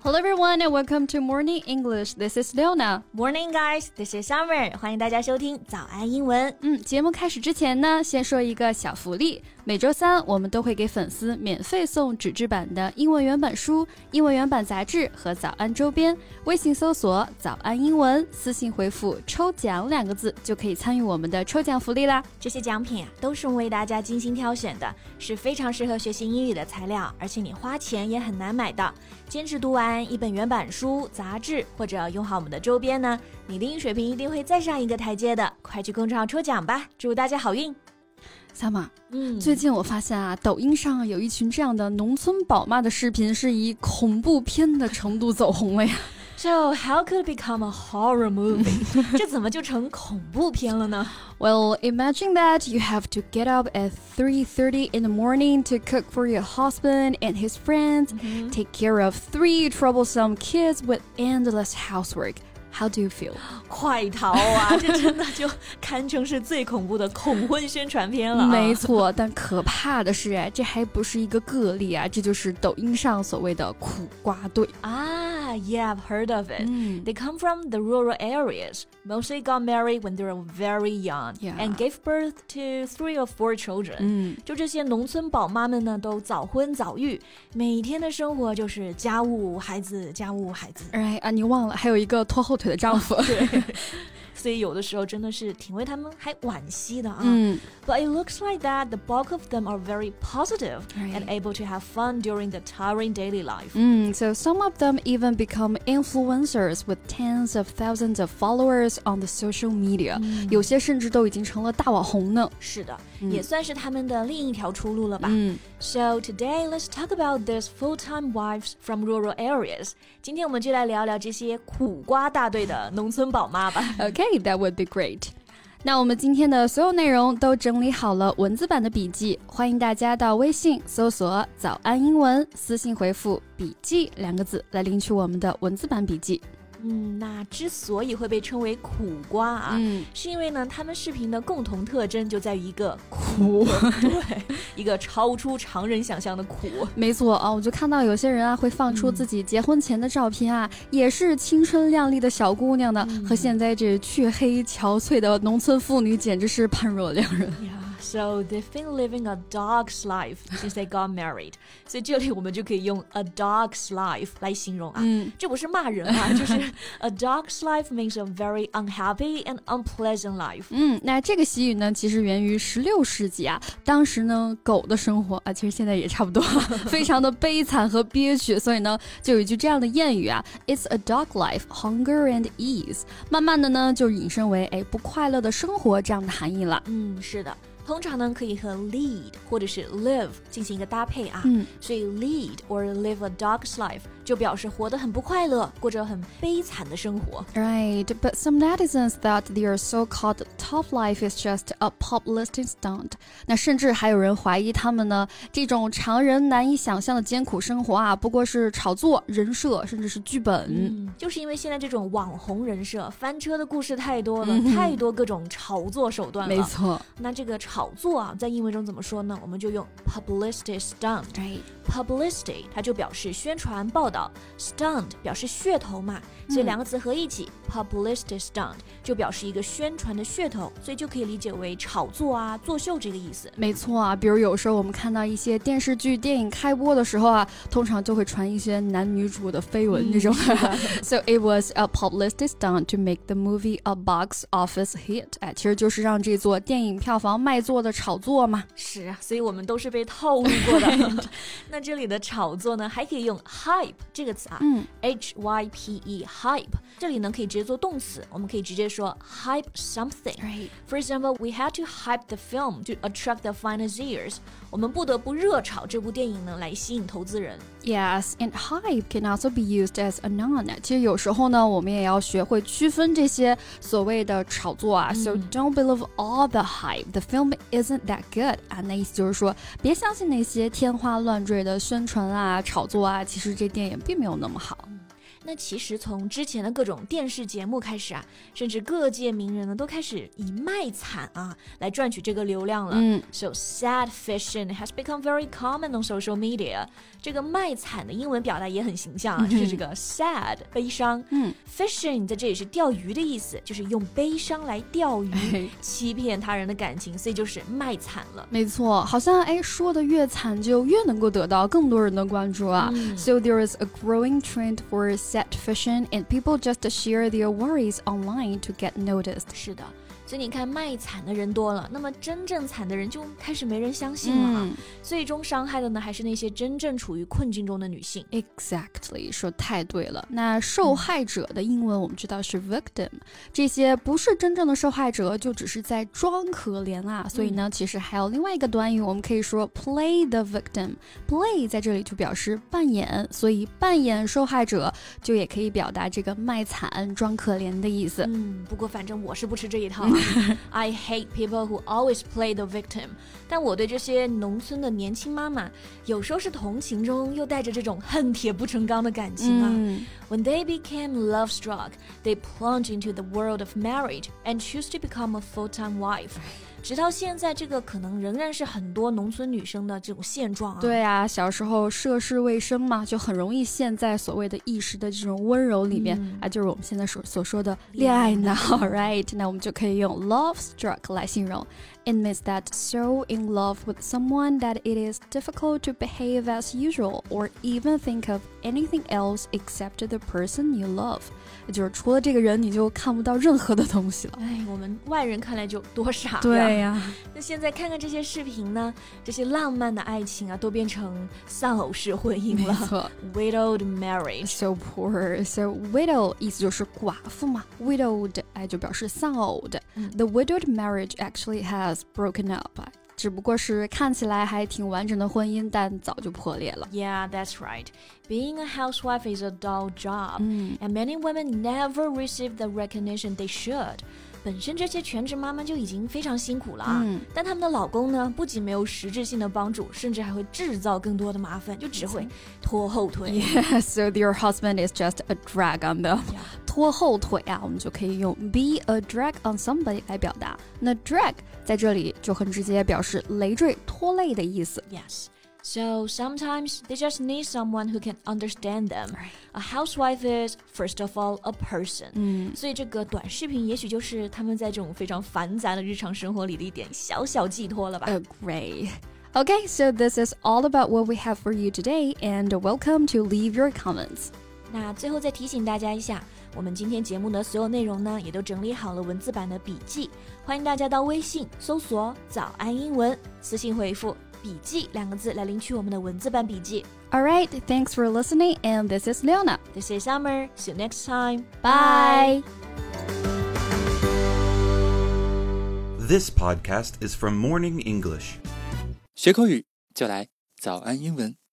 Hello everyone and welcome to Morning English. This is Leona. Morning guys, this is Summer. 欢迎大家收听早安英文。 节目开始之前呢，先说一个小福利。每周三我们都会给粉丝免费送纸质版的英文原版书、英文原版杂志和早安周边。微信搜索早安英文，私信回复抽奖2个字就可以参与我们的抽奖福利啦。 这些奖品都是我们为大家精心挑选的，是非常适合学习英语的材料，而且你花钱也很难买到。坚持读完一本原版书、杂志，或者用好我们的周边呢，你的英语水平一定会再上一个台阶的。快去公众号抽奖吧，祝大家好运。 Summer，最近我发现啊，抖音上有一群这样的农村宝妈的视频是以恐怖片的程度走红了呀。 So how could it become a horror movie? 这怎么就成恐怖片了呢？ Well, imagine that you have to get up at 3:30 in the morning to cook for your husband and his friends, take care of 3 troublesome kids with endless housework.How do you feel? 快逃啊！这真的就堪称是最恐怖的恐婚宣传片了。 没错，但可怕的是，这还不是一个个例啊，这就是抖音上所谓的苦瓜队啊。Yeah, I've heard of it. They come from the rural areas. Mostly got married when they were very young, and gave birth to 3 or 4 children. 就这些农村宝妈们呢，都早婚早育，每天的生活就是家务孩子，家务孩子。 哎啊，你忘了还有一个拖后腿的丈夫。 对。所以有的时候真的是挺为他们还惋惜的啊。But it looks like that the bulk of them are very positive and able to have fun during the tiring daily life. So some of them even become influencers with tens of thousands of followers on the social media. 有些甚至都已经成了大网红呢。 是的，也算是他们的另一条出路了吧。So today let's talk about these full-time wives from rural areas. 今天我们就来聊聊这些苦瓜大队的农村宝妈吧。 Okay, that would be great. 那我们今天的所有内容都整理好了文字版的笔记，欢迎大家到微信搜索早安英文，私信回复笔记2个字来领取我们的文字版笔记。 那之所以会被称为苦瓜啊，是因为呢，他们视频的共同特征就在于一个苦，对，一个超出常人想象的苦。 没错啊，我就看到有些人啊会放出自己结婚前的照片啊，也是青春靓丽的小姑娘呢，和现在这黢黑憔悴的农村妇女简直是判若两人。 So they've been living a dog's life since they got married. 所以这里我们就可以用 a dog's life 来形容啊，这不是骂人啊，就是 a dog's life means a very unhappy and unpleasant life. 那这个习语呢，其实源于16世纪啊，当时呢，狗的生活啊，其实现在也差不多，非常的悲惨和憋屈，所以呢，就有一句这样的谚语啊 ，It's a dog life, hunger and ease. 慢慢的呢，就引申为不快乐的生活这样的含义了。 是的。通常呢可以和 lead 或者是 live 进行一个搭配啊，所以 lead or live a dog's life 就表示活得很不快乐，过着很悲惨的生活。 Right, but some netizens thought their so-called top life is just a publicity stunt. 那甚至还有人怀疑他们呢，这种常人难以想象的艰苦生活啊，不过是炒作、人设，甚至是剧本。 就是因为现在这种网红人设翻车的故事太多了，太多各种炒作手段了。 没错。 那这个炒作啊，在英文中怎么说呢？我们就用 publicity stunt。Publicity 它就表示宣传报道，stunt 表示噱头嘛，所以2个词合一起 publicity stunt 就表示一个宣传的噱头，所以就可以理解为炒作啊、作秀这个意思。 没错啊，比如有时候我们看到一些电视剧、电影开播的时候啊，通常就会传一些男女主的绯闻这种。So it was a publicity stunt to make the movie a box office hit. 其实就是让这座电影票房卖座的炒作嘛。 是啊，所以我们都是被套路过的。那这里的炒作呢，还可以用 hype 这个词啊，hype hype 这里呢可以直接做动词，我们可以直接说 hype something. For example, we had to hype the film to attract the financiers. 我们不得不热炒这部电影呢，来吸引投资人。 Yes, and hype can also be used as a noun. 其实有时候呢，我们也要学会区分这些所谓的炒作啊。So don't believe all the hype. The film isn't that good. 啊，那意思就是说，别相信那些天花乱坠的宣传啊、炒作啊，其实这电影并没有那么好。 那其实从之前的各种电视节目开始啊，甚至各界名人呢都开始以卖惨啊来赚取这个流量了。So sad fishing has become very common on social media. 这个卖惨的英文表达也很形象啊，就是这个 sad 悲伤。fishing 在这里是钓鱼的意思，就是用悲伤来钓鱼，欺骗他人的感情，所以就是卖惨了。 没错，好像说的越惨就越能够得到更多人的关注啊。So there is a growing trend for sad fishing, and people just share their worries online to get noticed. 是的。所以你看卖惨的人多了，那么真正惨的人就开始没人相信了最终伤害的呢还是那些真正处于困境中的女性。 Exactly， 说太对了。那受害者的英文我们知道是 victim，这些不是真正的受害者，就只是在装可怜啊。所以呢其实还有另外一个短语，我们可以说 play the victim。 play 在这里就表示扮演，所以扮演受害者就也可以表达这个卖惨装可怜的意思。 不过反正我是不吃这一套I hate people who always play the victim. 但我对这些农村的年轻妈妈有时候是同情中又带着这种恨铁不成钢的感情啊。When they became love-struck, they plunge into the world of marriage and choose to become a full-time wife. 直到现在，这个可能仍然是很多农村女生的这种现状啊。 对啊，小时候涉世未深嘛，就很容易陷在所谓的一时的这种温柔里面就是我们现在所说的恋爱脑right？ 那我们就可以用 love struck 来形容。It means that so in love with someone that it is difficult to behave as usual or even think of anything else except the person you love. 就是除了这个人你就看不到任何的东西了。 我们外人看来就多傻呀。 对呀。 那现在看看这些视频呢，这些浪漫的爱情啊都变成丧偶式婚姻了。 没错。 Widowed marriage. So poor. So widow 意思就是寡妇嘛， widowed 就表示丧偶的。The widowed marriage actually has broken up. 只不过是看起来还挺完整的婚姻，但早就破裂了。 Yeah, that's right. Being a housewife is a dull job, and many women never receive the recognition they should. 本身这些全职妈妈就已经非常辛苦了啊，但他们的老公呢，不仅没有实质性的帮助，甚至还会制造更多的麻烦，就只会拖后腿。 Yeah, so your husband is just a drag on them. 拖后腿啊，我们就可以用 be a drag on somebody 来表达。那 drag 在这里就很直接表示累赘、拖累的意思。 Yes. So sometimes they just need someone who can understand them. A housewife is, first of all, a person. 所以这个短视频也许就是他们在这种非常繁杂的日常生活里的一点小小寄托了吧。 Great. Okay, so this is all about what we have for you today, and welcome to leave your comments. 那最后再提醒大家一下，我们今天节目的所有内容呢，也都整理好了文字版的笔记，欢迎大家到微信搜索早安英文，私信回复笔记2个字来领取我们的文字版笔记。 Alright, thanks for listening, and this is Leona. This is Summer. See you next time. Bye. This podcast is from Morning English. 学口语就来早安英文。